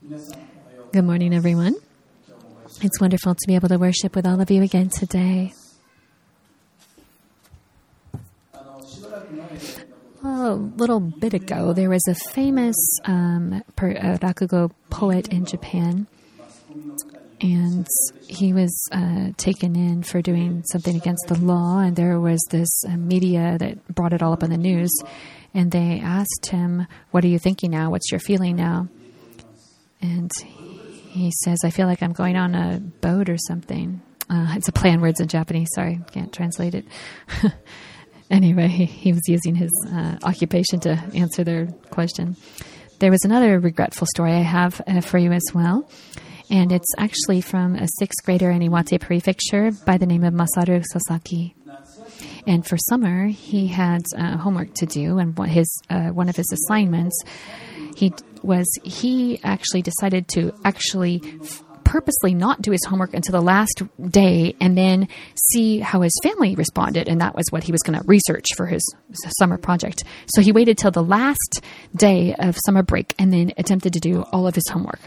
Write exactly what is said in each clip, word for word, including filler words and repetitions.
Good morning, everyone. It's wonderful to be able to worship with all of you again today. A little bit ago, there was a famous um, per, uh, rakugo poet in Japan, and he was uh, taken in for doing something against the law, and there was this uh, media that brought it all up on the news, and they asked him, "What are you thinking now? What's your feeling now?" And he says, "I feel like I'm going on a boat or something." Uh, it's a play on words in Japanese. Sorry, can't translate it. Anyway, he, he was using his uh, occupation to answer their question. There was another regretful story I have uh, for you as well. And it's actually from a sixth grader in Iwate Prefecture by the name of Masaru Sasaki. And for summer, he had uh, homework to do, and his uh, one of his assignments he was he actually decided to actually f- purposely not do his homework until the last day and then see how his family responded, and that was what he was going to research for his summer project. So he waited till the last day of summer break and then attempted to do all of his homework.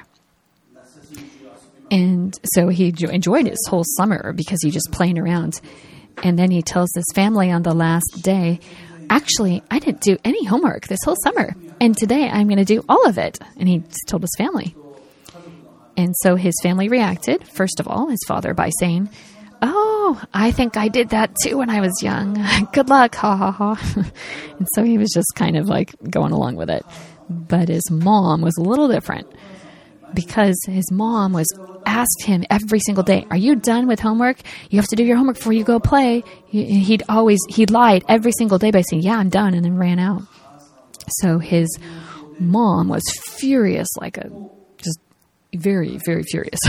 And so he enjoyed his whole summer because he just playing around. And then he tells his family on the last day, "Actually, I didn't do any homework this whole summer, and today I'm going to do all of it." And he told his family. And so his family reacted, first of all, his father, by saying, "Oh, I think I did that too when I was young. Good luck, ha ha ha." And so he was just kind of like going along with it. But his mom was a little different, because his mom was asked him every single day, "Are you done with homework? You have to do your homework before you go play." He'd always, he lied every single day by saying, "Yeah, I'm done," and then ran out. So his mom was furious, like a, just very, very furious.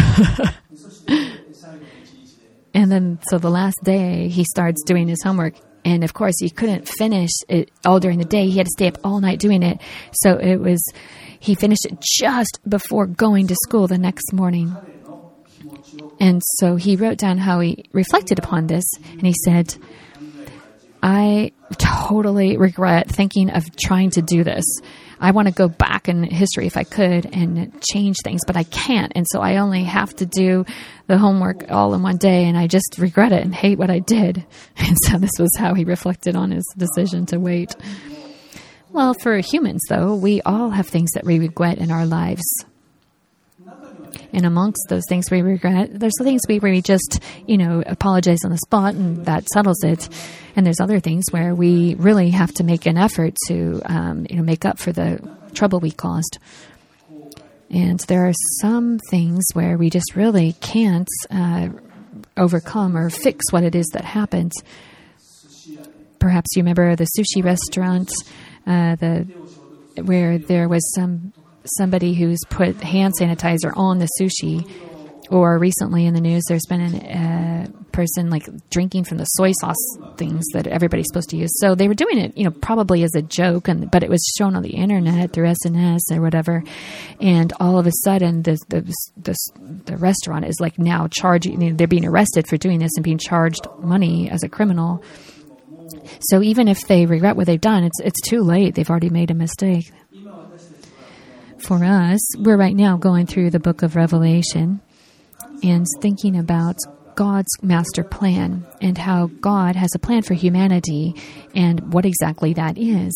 And then, so the last day, he starts doing his homework. And of course, he couldn't finish it all during the day. He had to stay up all night doing it. So it was, he finished it just before going to school the next morning. And so he wrote down how he reflected upon this. And he said, "I totally regret thinking of trying to do this. I want to go back in history if I could and change things, but I can't. And so I only have to do the homework all in one day, and I just regret it and hate what I did." And so this was how he reflected on his decision to wait. Well, for humans, though, we all have things that we regret in our lives. And amongst those things we regret, there's the things we, where we just, you know, apologize on the spot and that settles it. And there's other things where we really have to make an effort to, um, you know, make up for the trouble we caused. And there are some things where we just really can't uh, overcome or fix what it is that happened. Perhaps you remember the sushi restaurant, uh, the where there was some somebody who's put hand sanitizer on the sushi, or recently in the news there's been a uh, person like drinking from the soy sauce things that everybody's supposed to use. So they were doing it, you know, probably as a joke, and but it was shown on the internet through S N S or whatever, and all of a sudden the the the, the restaurant is like now charging, you know, they're being arrested for doing this and being charged money as a criminal. So even if they regret what they've done, it's it's too late. They've already made a mistake. For us, we're right now going through the book of Revelation and thinking about God's master plan and how God has a plan for humanity and what exactly that is.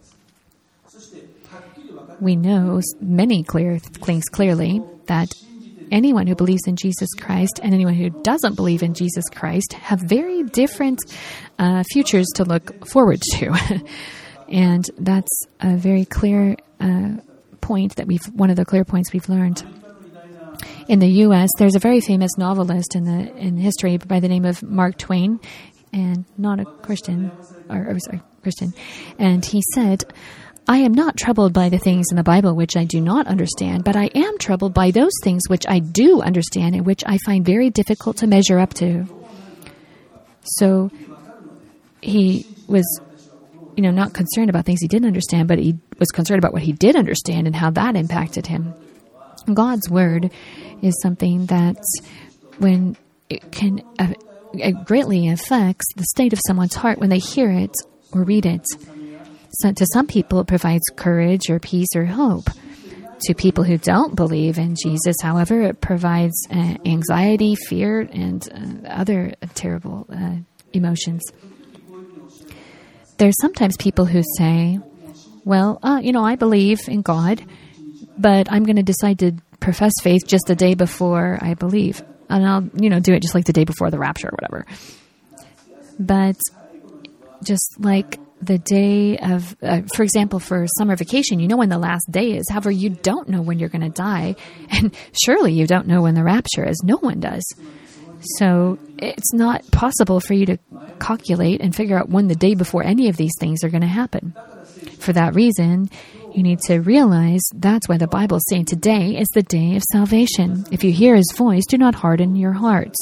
We know many clear things clearly that anyone who believes in Jesus Christ and anyone who doesn't believe in Jesus Christ have very different uh, futures to look forward to. And that's a very clear uh point that we've one of the clear points we've learned. In the U S, there's a very famous novelist in the in history by the name of Mark Twain, and not a Christian, or, or sorry, Christian. And he said, "I am not troubled by the things in the Bible which I do not understand, but I am troubled by those things which I do understand and which I find very difficult to measure up to." So he was, you know, not concerned about things he didn't understand, but he was concerned about what he did understand and how that impacted him. God's word is something that, when it can, uh, it greatly affects the state of someone's heart when they hear it or read it. So to some people, it provides courage or peace or hope. To people who don't believe in Jesus, however, it provides uh, anxiety, fear, and uh, other terrible uh, emotions. There's sometimes people who say, well, uh, you know, I believe in God, but I'm going to decide to profess faith just the day before I believe. And I'll, you know, do it just like the day before the rapture or whatever. But just like the day of, uh, for example, for summer vacation, you know when the last day is. However, you don't know when you're going to die. And surely you don't know when the rapture is. No one does. So it's not possible for you to calculate and figure out when the day before any of these things are going to happen. For that reason, you need to realize that's why the Bible is saying today is the day of salvation. If you hear His voice, do not harden your hearts.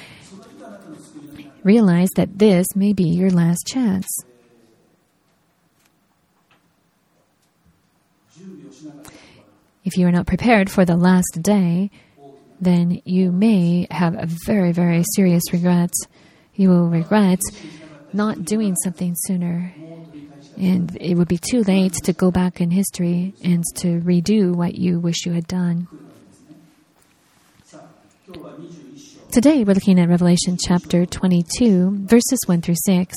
Realize that this may be your last chance. If you are not prepared for the last day, then you may have a very, very serious regret. You will regret not doing something sooner. And it would be too late to go back in history and to redo what you wish you had done. Today we're looking at Revelation chapter twenty-two, verses one through six.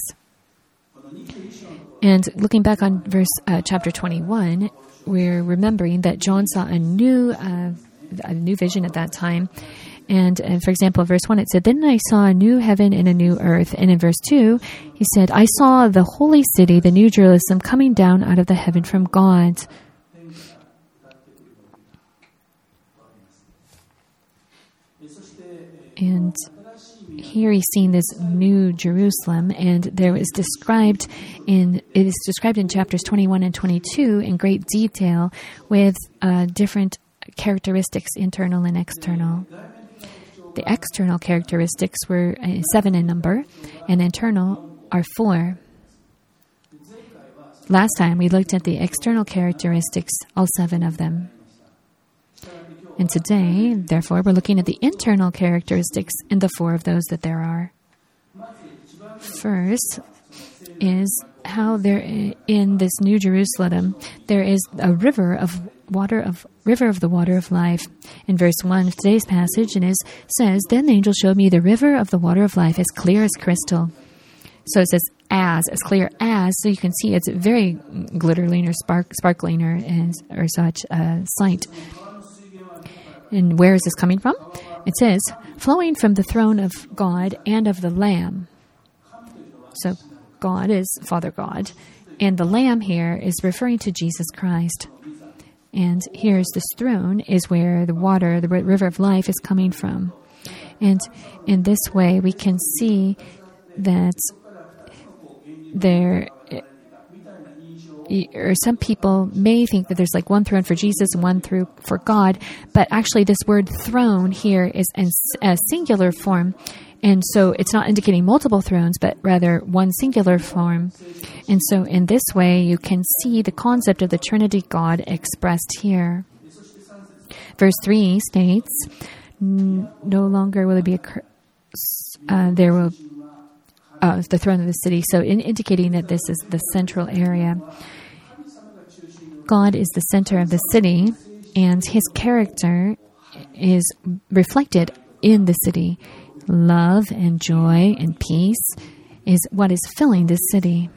And looking back on verse uh, chapter twenty-one, we're remembering that John saw a new uh, a new vision at that time. And, and for example, in verse one, it said, "Then I saw a new heaven and a new earth." And in verse two, he said, "I saw the holy city, the new Jerusalem, coming down out of the heaven from God." And here he's seeing this new Jerusalem, and there is described in it is described in chapters twenty-one and twenty-two in great detail with uh, different characteristics, internal and external. The external characteristics were uh, seven in number, and internal are four. Last time we looked at the external characteristics, all seven of them. And today, therefore, we're looking at the internal characteristics and the four of those that there are. First is how there in this New Jerusalem there is a river of water of river of the water of life. In verse one of today's passage, it is says, "Then the angel showed me the river of the water of life, as clear as crystal." So it says as, as clear as, so you can see it's very glittering or spark, sparkling or, or such uh, sight. And where is this coming from? It says, flowing from the throne of God and of the Lamb. So God is Father God, and the Lamb here is referring to Jesus Christ. And here's this throne is where the water, the river of life is coming from. And in this way, we can see that there, or some people may think that there's like one throne for Jesus and one throne for God, but actually this word throne here is in a singular form. And so it's not indicating multiple thrones, but rather one singular form. And so in this way, you can see the concept of the Trinity God expressed here. Verse three states, "No longer will it be a curse. Uh, there will uh, the throne of the city." So in indicating that this is the central area. God is the center of the city, and His character is reflected in the city. Love and joy and peace is what is filling this city.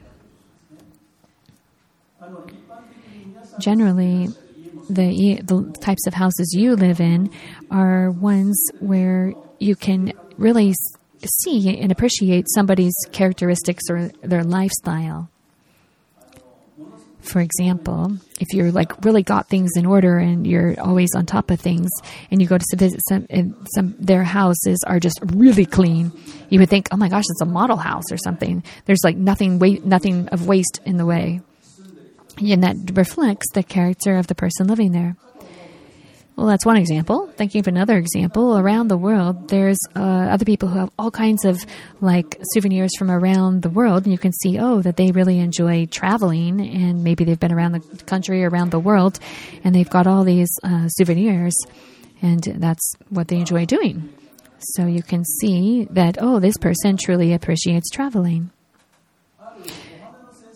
Generally, the, the types of houses you live in are ones where you can really see and appreciate somebody's characteristics or their lifestyle. For example, if you're like really got things in order and you're always on top of things, and you go to visit some, and some their houses are just really clean, you would think, "Oh my gosh, it's a model house or something." There's like nothing, wa- nothing of waste in the way, and that reflects the character of the person living there. Well, that's one example. Thinking of another example, around the world, there's uh, other people who have all kinds of like souvenirs from around the world, and you can see, oh, that they really enjoy traveling, and maybe they've been around the country, around the world, and they've got all these uh, souvenirs, and that's what they enjoy doing. So you can see that, oh, this person truly appreciates traveling.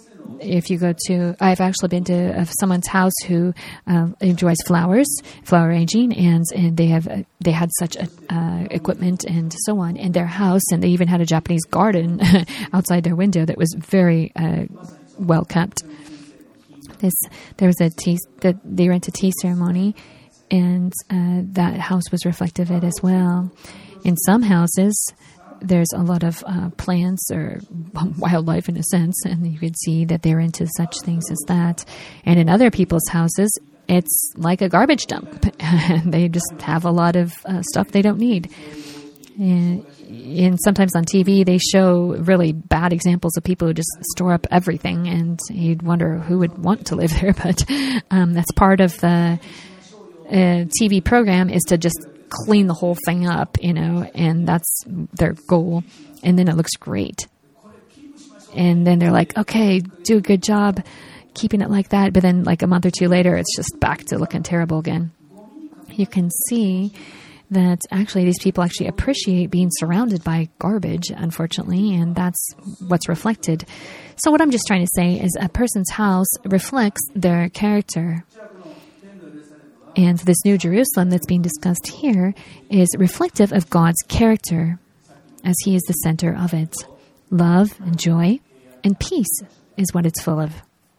if you go to, I've actually been to uh, someone's house who uh, enjoys flowers, flower arranging, and, and they have uh, they had such a, uh, equipment and so on in their house, and they even had a Japanese garden outside their window that was very uh, well kept. This there was a tea that they went to tea ceremony, and uh, that house was reflective of it as well. In some houses, there's a lot of uh, plants or wildlife in a sense, and you could see that they're into such things as that. And in other people's houses, it's like a garbage dump. They just have a lot of uh, stuff they don't need. And, and sometimes on T V, they show really bad examples of people who just store up everything, and you'd wonder who would want to live there. But um, that's part of the uh, T V program, is to just clean the whole thing up, you know, and that's their goal. And then it looks great. And then they're like, okay, do a good job keeping it like that. But then like a month or two later, it's just back to looking terrible again. You can see that actually these people actually appreciate being surrounded by garbage, unfortunately, and that's what's reflected. So what I'm just trying to say is a person's house reflects their character. And this New Jerusalem that's being discussed here is reflective of God's character, as He is the center of it. Love and joy and peace is what it's full of.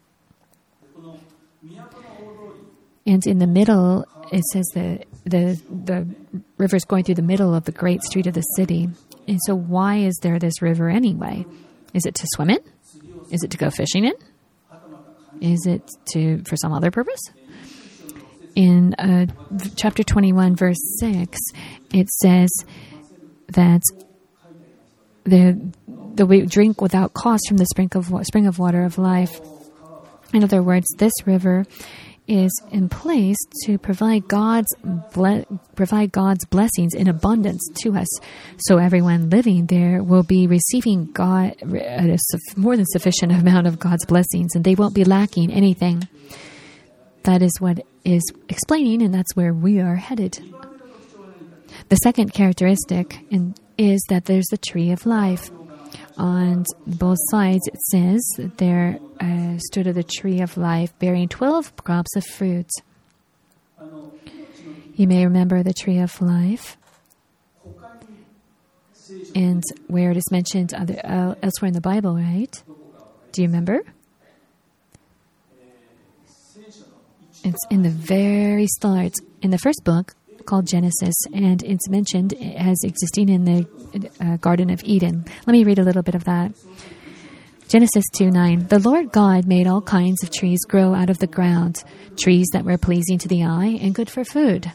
And in the middle, it says that the the river is going through the middle of the great street of the city. And so why is there this river anyway? Is it to swim in? Is it to go fishing in? Is it to for some other purpose? In uh, chapter twenty-one, verse six, it says that the the we drink without cost from the spring of spring of water of life. In other words, this river is in place to provide God's ble- provide God's blessings in abundance to us. So everyone living there will be receiving God a more than sufficient amount of God's blessings, and they won't be lacking anything. That is what is explaining, and that's where we are headed. The second characteristic in, is that there's the tree of life. On both sides, it says that there uh, stood the tree of life, bearing twelve crops of fruit. You may remember the tree of life, and where it is mentioned other, uh, elsewhere in the Bible, right? Do you remember? It's in the very start, in the first book called Genesis, and it's mentioned as existing in the uh, Garden of Eden. Let me read a little bit of that. Genesis two nine. The Lord God made all kinds of trees grow out of the ground, trees that were pleasing to the eye and good for food.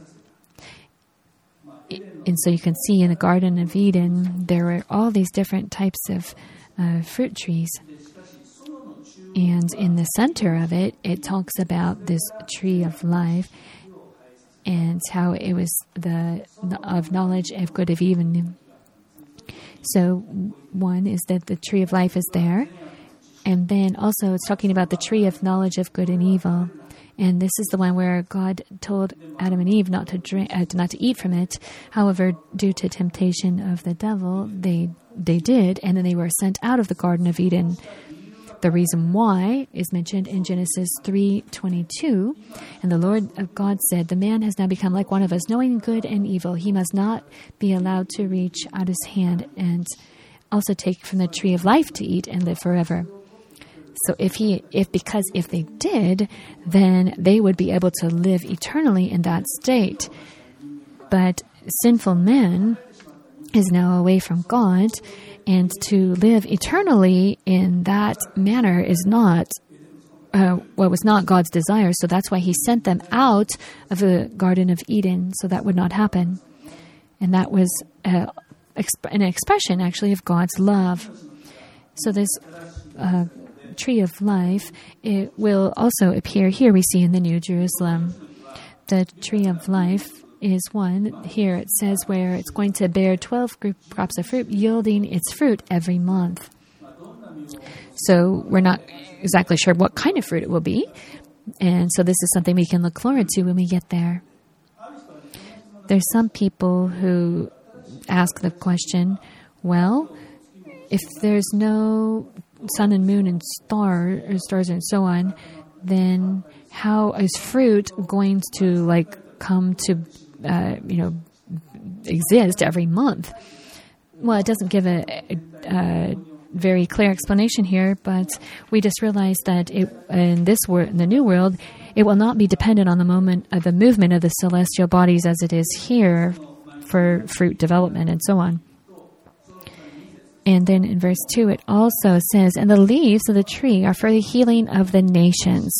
And so you can see in the Garden of Eden, there were all these different types of uh, fruit trees. And in the center of it, it talks about this tree of life and how it was the of knowledge of good of evil. So one is that the tree of life is there. And then also it's talking about the tree of knowledge of good and evil. And this is the one where God told Adam and Eve not to drink, uh, not to eat from it. However, due to temptation of the devil, they they did, and then they were sent out of the Garden of Eden. The reason why is mentioned in Genesis three twenty-two. And the Lord of God said, the man has now become like one of us, knowing good and evil. He must not be allowed to reach out his hand and also take from the tree of life to eat and live forever. So if he, if because if they did, then they would be able to live eternally in that state. But sinful man is now away from God, and to live eternally in that manner is not, uh, well, was not God's desire. So that's why He sent them out of the Garden of Eden, so that would not happen. And that was uh, exp- an expression, actually, of God's love. So this uh, tree of life, it will also appear here. We see in the New Jerusalem, the tree of life is one. Here it says where it's going to bear twelve crops of fruit, yielding its fruit every month. So we're not exactly sure what kind of fruit it will be. And so this is something we can look forward to when we get there. There's some people who ask the question, well, if there's no sun and moon and star, or stars and so on, then how is fruit going to like come to, uh, you know, exist every month? Well, it doesn't give a, a, a very clear explanation here, but we just realized that it, in this world, in the new world, it will not be dependent on the moment of the movement of the celestial bodies as it is here for fruit development and so on. And then in verse two, it also says, "And the leaves of the tree are for the healing of the nations."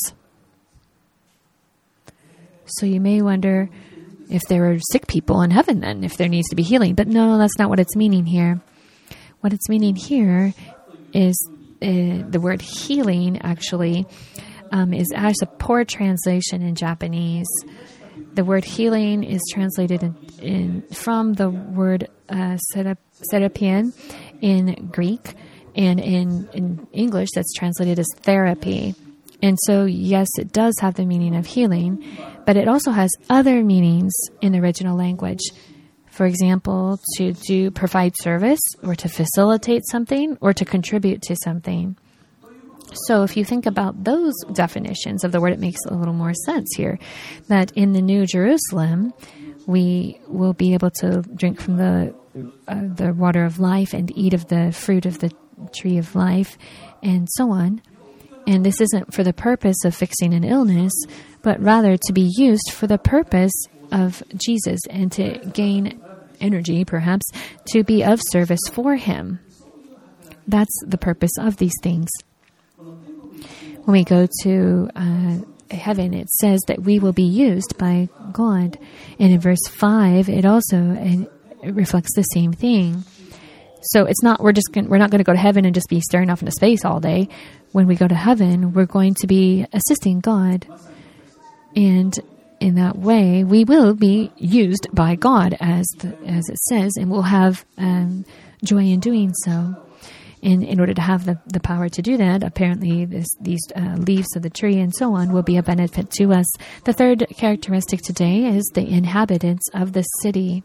So you may wonder if there are sick people in heaven then, if there needs to be healing. But no, that's not what it's meaning here. What it's meaning here is uh, the word healing actually um, is as a poor translation in Japanese. The word healing is translated in, in from the word uh, serapien in Greek, and in, in English that's translated as therapy. And so, yes, it does have the meaning of healing, but it also has other meanings in the original language. For example, to do provide service, or to facilitate something, or to contribute to something. So if you think about those definitions of the word, it makes a little more sense here. That in the New Jerusalem, we will be able to drink from the uh, the water of life and eat of the fruit of the tree of life, and so on. And this isn't for the purpose of fixing an illness, but rather to be used for the purpose of Jesus and to gain energy, perhaps, to be of service for Him. That's the purpose of these things. When we go to uh, heaven, it says that we will be used by God. And in verse five, it also it, it reflects the same thing. So it's not we're just gonna, we're not going to go to heaven and just be staring off into space all day. When we go to heaven, we're going to be assisting God, and in that way, we will be used by God, as the, as it says, and we'll have um, joy in doing so. And in order to have the, the power to do that, apparently this, these uh, leaves of the tree and so on will be a benefit to us. The third characteristic today is the inhabitants of the city.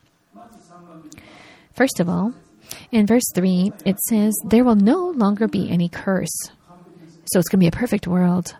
First of all, in verse three, it says, "There will no longer be any curse." So it's going to be a perfect world.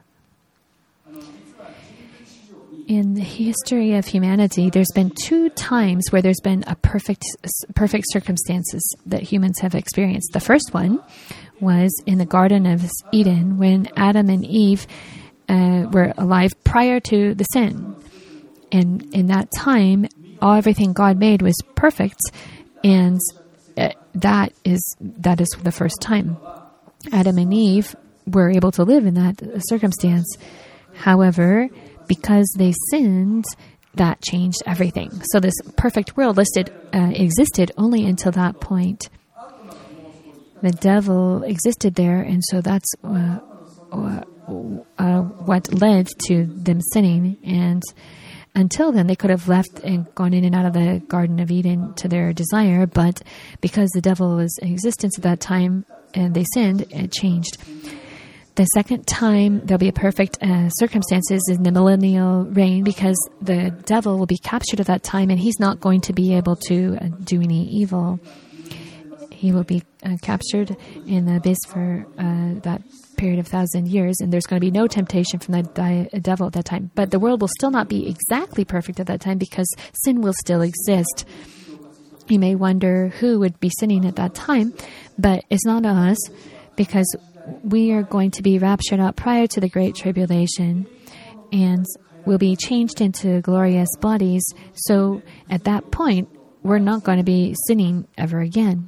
In the history of humanity, there's been two times where there's been a perfect, perfect circumstances that humans have experienced. The first one was in the Garden of Eden, when Adam and Eve uh, were alive prior to the sin. And in that time, all everything God made was perfect, and uh, that is that is the first time Adam and Eve were able to live in that circumstance. However, because they sinned, that changed everything. So this perfect world listed uh, existed only until that point. The devil existed there, and so that's uh, uh, uh, what led to them sinning. And until then, they could have left and gone in and out of the Garden of Eden to their desire, but because the devil was in existence at that time and they sinned, it changed. The second time there'll be a perfect uh, circumstances in the millennial reign, because the devil will be captured at that time, and he's not going to be able to uh, do any evil. He will be uh, captured in the abyss for uh, that period of thousand years, and there's going to be no temptation from the di- devil at that time. But the world will still not be exactly perfect at that time, because sin will still exist. You may wonder who would be sinning at that time, but it's not us, because we are going to be raptured out prior to the Great Tribulation, and will be changed into glorious bodies. So at that point, we're not going to be sinning ever again.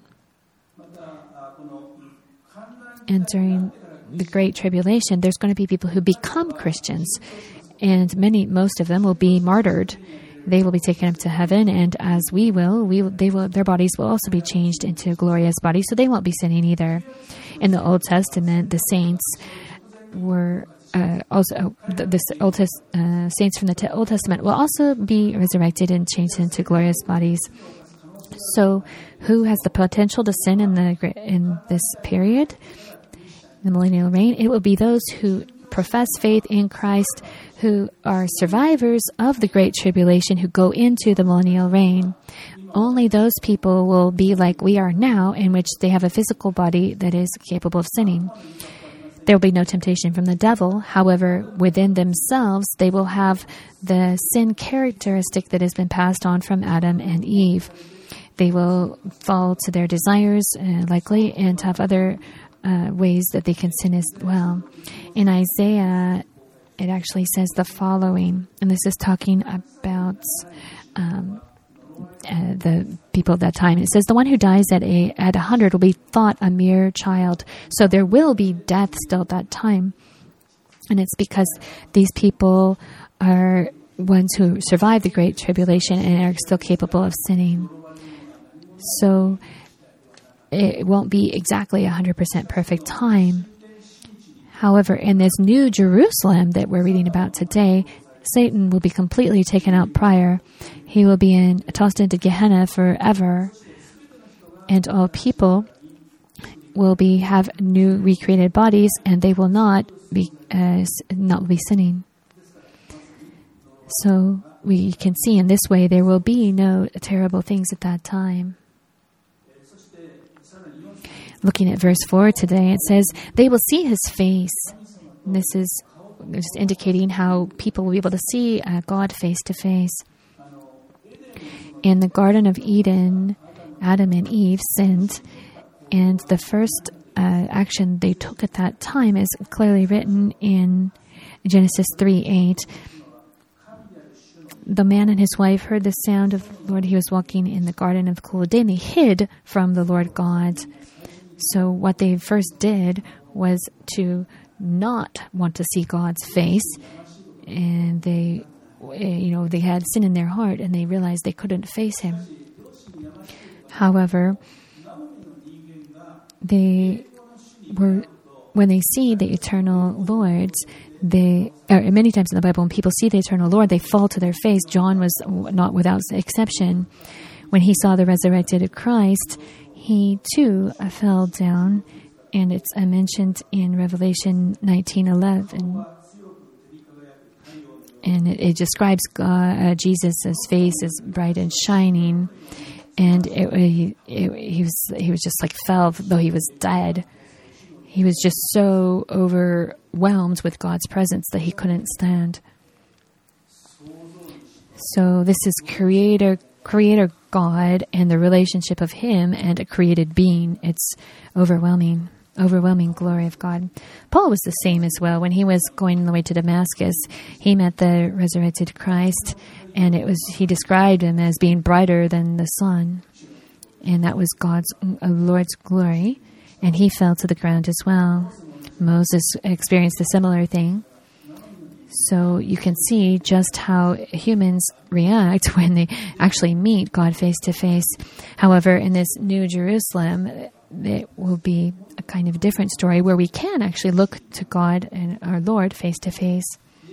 And during the Great Tribulation, there's going to be people who become Christians, and many, most of them will be martyred. They will be taken up to heaven, and as we will, we they will their bodies will also be changed into glorious bodies, so they won't be sinning either. In the Old Testament, the saints were uh, also the, the Old Test, uh, saints from the te- Old Testament will also be resurrected and changed into glorious bodies. So, who has the potential to sin in the in this period, the millennial reign? It will be those who profess faith in Christ, who are survivors of the Great Tribulation who go into the millennial reign. Only those people will be like we are now, in which they have a physical body that is capable of sinning. There will be no temptation from the devil. However, within themselves, they will have the sin characteristic that has been passed on from Adam and Eve. They will fall to their desires, uh, likely, and have other uh, ways that they can sin as well. In Isaiah, it actually says the following, and this is talking about um, uh, the people of that time. It says, the one who dies at a at a hundred will be thought a mere child. So there will be death still at that time. And it's because these people are ones who survive the Great Tribulation and are still capable of sinning. So it won't be exactly a one hundred percent perfect time. However, in this new Jerusalem that we're reading about today, Satan will be completely taken out prior. He will be in, tossed into Gehenna forever. And all people will be have new recreated bodies, and they will not be uh, not be sinning. So we can see in this way there will be no terrible things at that time. Looking at verse four today, it says, they will see his face. And this is just indicating how people will be able to see uh, God face to face. In the Garden of Eden, Adam and Eve sinned, and the first uh, action they took at that time is clearly written in Genesis three eight. The man and his wife heard the sound of the Lord. He was walking in the garden of the cool of day, and they hid from the Lord God. So what they first did was to not want to see God's face, and they, you know, they had sin in their heart, and they realized they couldn't face Him. However, they were, when they see the eternal Lord, they, or many times in the Bible, when people see the eternal Lord, they fall to their face. John was not without exception. When he saw the resurrected Christ, he too fell down, and it's uh, mentioned in Revelation nineteen eleven. And it, it describes God, uh, Jesus' face as bright and shining, and it, it, it, he was he was just like fell, though he was dead. He was just so overwhelmed with God's presence that he couldn't stand. So this is Creator, Creator God and the relationship of Him and a created being. It's overwhelming, overwhelming glory of God. Paul was the same as well. When he was going on the way to Damascus, he met the resurrected Christ, and it was he described him as being brighter than the sun, and that was God's uh, Lord's glory. And he fell to the ground as well. Moses experienced a similar thing. So you can see just how humans react when they actually meet God face to face. However, in this new Jerusalem, it will be a kind of different story where we can actually look to God and our Lord face to face.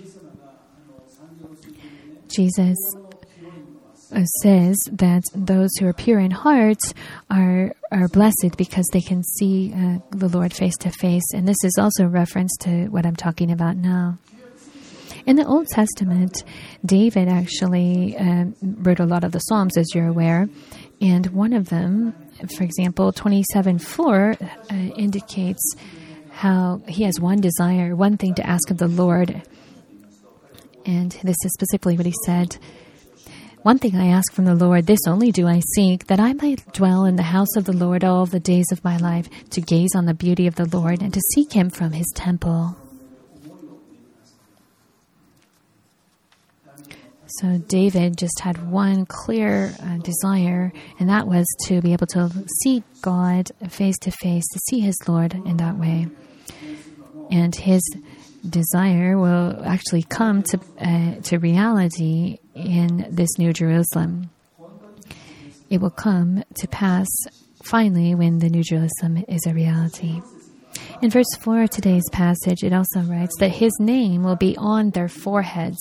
Jesus says that those who are pure in heart are are blessed because they can see uh, the Lord face to face. And this is also a reference to what I'm talking about now. In the Old Testament, David actually uh, wrote a lot of the Psalms, as you're aware. And one of them, for example, twenty-seven four, uh, indicates how he has one desire, one thing to ask of the Lord. And this is specifically what he said. One thing I ask from the Lord, this only do I seek, that I might dwell in the house of the Lord all the days of my life, to gaze on the beauty of the Lord and to seek Him from His temple. So David just had one clear uh, desire, and that was to be able to see God face to face, to see his Lord in that way. And his desire will actually come to uh, to reality in this New Jerusalem. It will come to pass finally when the New Jerusalem is a reality. In verse four of today's passage, it also writes that his name will be on their foreheads.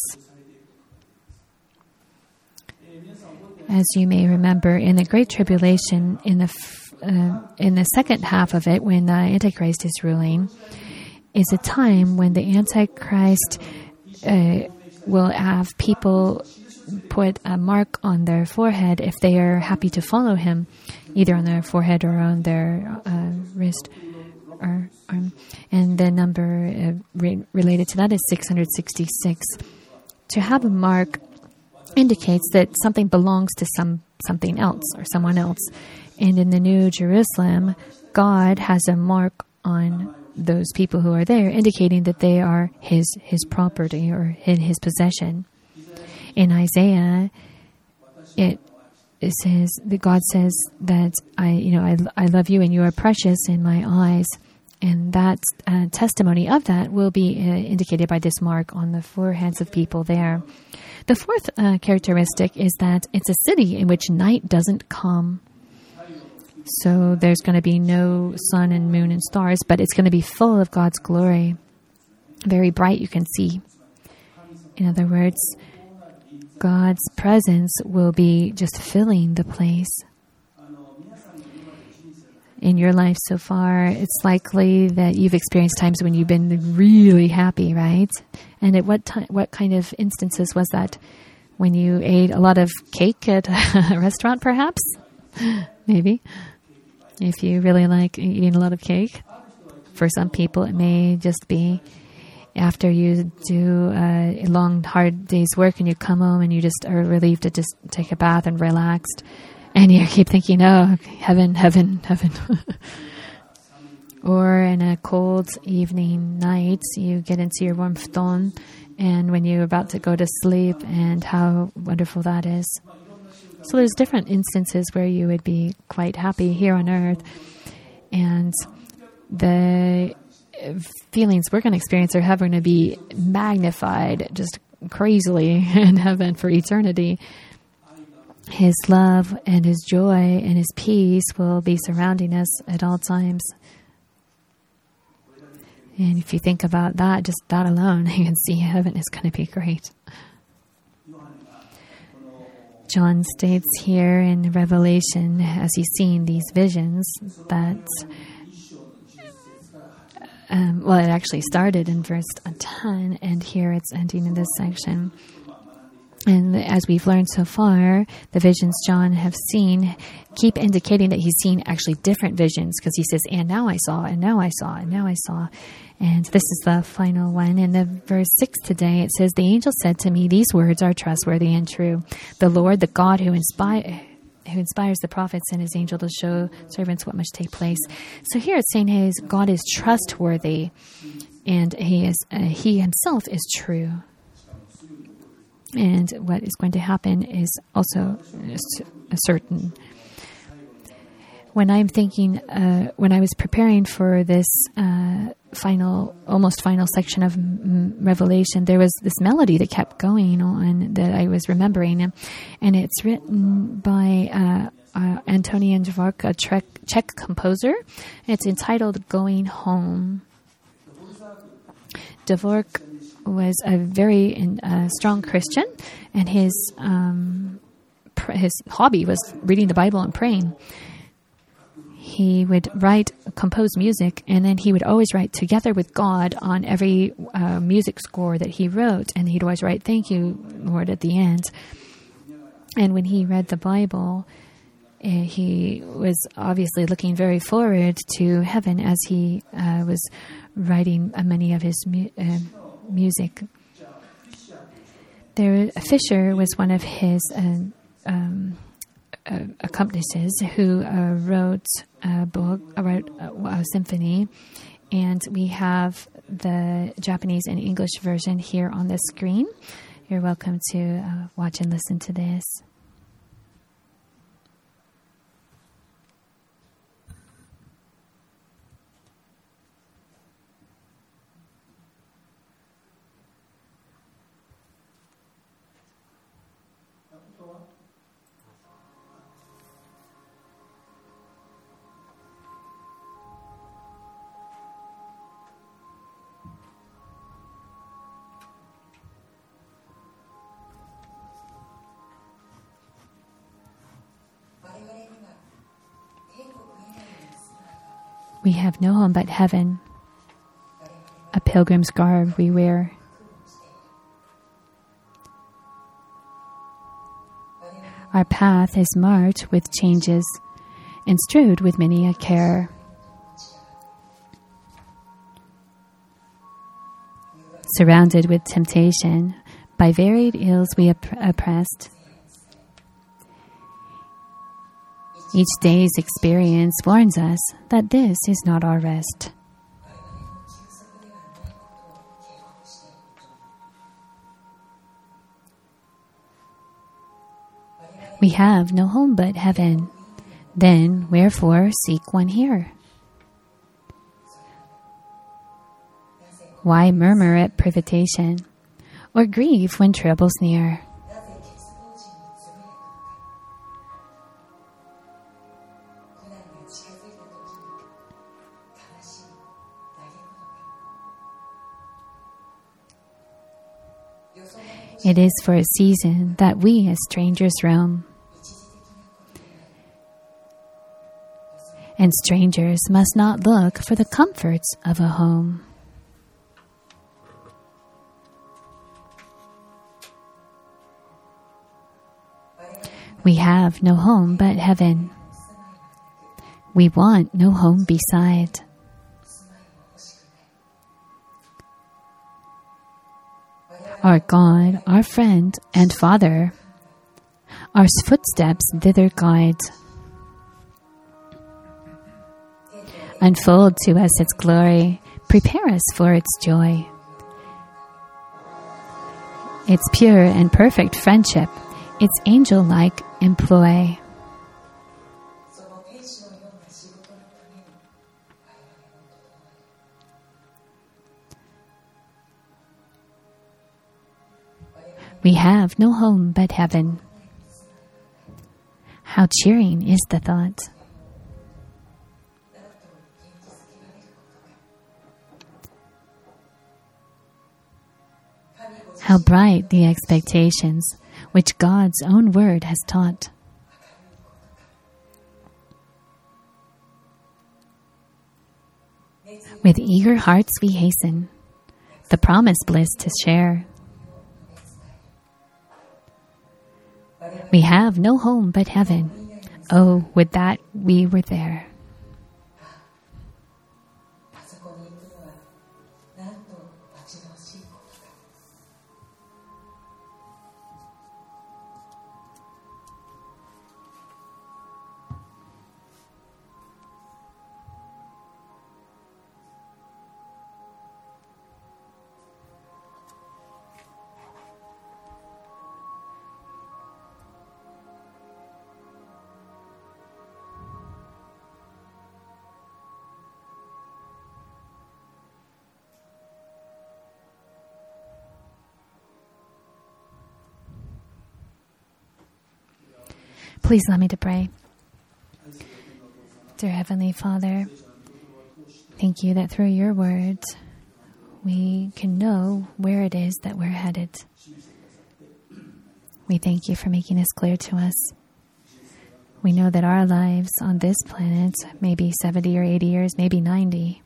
As you may remember, in the Great Tribulation, in the uh, in the second half of it, when the Antichrist is ruling, is a time when the Antichrist uh, will have people put a mark on their forehead if they are happy to follow him, either on their forehead or on their uh, wrist or arm. And the number uh, re- related to that is six hundred sixty-six. To have a mark indicates that something belongs to some something else or someone else. And in the New Jerusalem, God has a mark on those people who are there, indicating that they are his his property or in his possession. In Isaiah, it it says that God says that I you know I I love you and you are precious in my eyes, and that uh, testimony of that will be uh, indicated by this mark on the foreheads of people there. The fourth uh, characteristic is that it's a city in which night doesn't come. So there's going to be no sun and moon and stars, but it's going to be full of God's glory. Very bright, you can see. In other words, God's presence will be just filling the place. In your life so far, it's likely that you've experienced times when you've been really happy, right? And at what time, what kind of instances was that? When you ate a lot of cake at a restaurant, perhaps? Maybe. If you really like eating a lot of cake. For some people, it may just be after you do a long, hard day's work and you come home and you just are relieved to just take a bath and relaxed. And you keep thinking, oh, heaven, heaven, heaven. Or in a cold evening night, you get into your warm futon, and when you're about to go to sleep, and how wonderful that is. So there's different instances where you would be quite happy here on earth. And the feelings we're going to experience are going to be magnified just crazily in heaven for eternity. His love and his joy and his peace will be surrounding us at all times. And if you think about that, just that alone, you can see heaven is going to be great. John states here in Revelation, as he's seeing these visions, that, um, well, it actually started in verse ten, and here it's ending in this section. And as we've learned so far, the visions John have seen keep indicating that he's seen actually different visions, because he says, and now I saw, and now I saw, and now I saw. And this is the final one. In the verse six today, it says, the angel said to me, these words are trustworthy and true. The Lord, the God who inspire, who inspires the prophets and his angel to show servants what must take place. So here it's saying his God is trustworthy, and he is uh, he himself is true. And what is going to happen is also certain. When I'm thinking, uh, when I was preparing for this uh, final, almost final section of m- Revelation, there was this melody that kept going on that I was remembering. And it's written by uh, uh, Antonian Dvorak, a Czech, Czech composer. It's entitled Going Home. Dvorak was a very uh, strong Christian, and his um, pr- his hobby was reading the Bible and praying. He would write, compose music, and then he would always write together with God on every uh, music score that he wrote, and he'd always write, thank you, Lord, at the end. And when he read the Bible, uh, he was obviously looking very forward to heaven as he uh, was writing uh, many of his mu- uh, music. There, Fischer was one of his uh, um, uh, accomplices who uh, wrote a book, uh, wrote a, a symphony, and we have the Japanese and English version here on the screen. You're welcome to uh, watch and listen to this. We have no home but heaven, a pilgrim's garb we wear. Our path is marked with changes and strewed with many a care. Surrounded with temptation, by varied ills we opp- oppressed. Each day's experience warns us that this is not our rest. We have no home but heaven. Then wherefore seek one here? Why murmur at privation, or grieve when trouble's near? It is for a season that we as strangers roam. And strangers must not look for the comforts of a home. We have no home but heaven. We want no home beside. Our God, our friend and Father, our footsteps thither guide. Unfold to us its glory, prepare us for its joy. Its pure and perfect friendship, its angel-like employ. We have no home but heaven. How cheering is the thought. How bright the expectations which God's own word has taught. With eager hearts we hasten the promised bliss to share. We have no home but heaven. Oh, would that we were there. Please allow me to pray. Dear Heavenly Father, thank you that through your words we can know where it is that we're headed. We thank you for making this clear to us. We know that our lives on this planet may be seventy or eighty years, maybe ninety.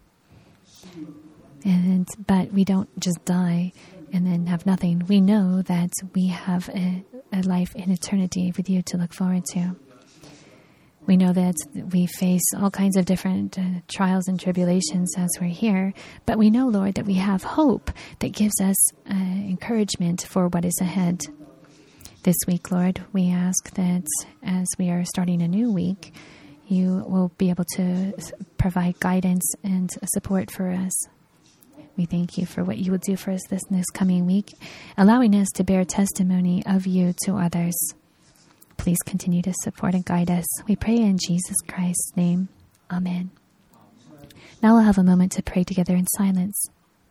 And but we don't just die and then have nothing. We know that we have a, a life in eternity with you to look forward to. We know that we face all kinds of different uh, trials and tribulations as we're here, but we know, Lord, that we have hope that gives us uh, encouragement for what is ahead. This week, Lord, we ask that as we are starting a new week, you will be able to provide guidance and support for us. We thank you for what you will do for us this, this coming week, allowing us to bear testimony of you to others. Please continue to support and guide us. We pray in Jesus Christ's name. Amen. Now we'll have a moment to pray together in silence.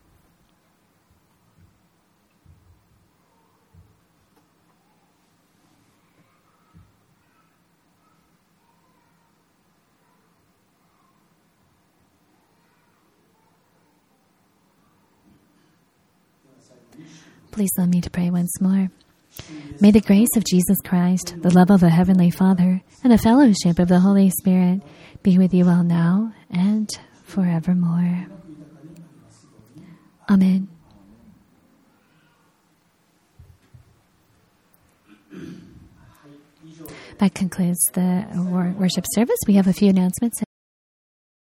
Please allow me to pray once more. May the grace of Jesus Christ, the love of the Heavenly Father, and the fellowship of the Holy Spirit be with you all now and forevermore. Amen. That concludes the wor- worship service. We have a few announcements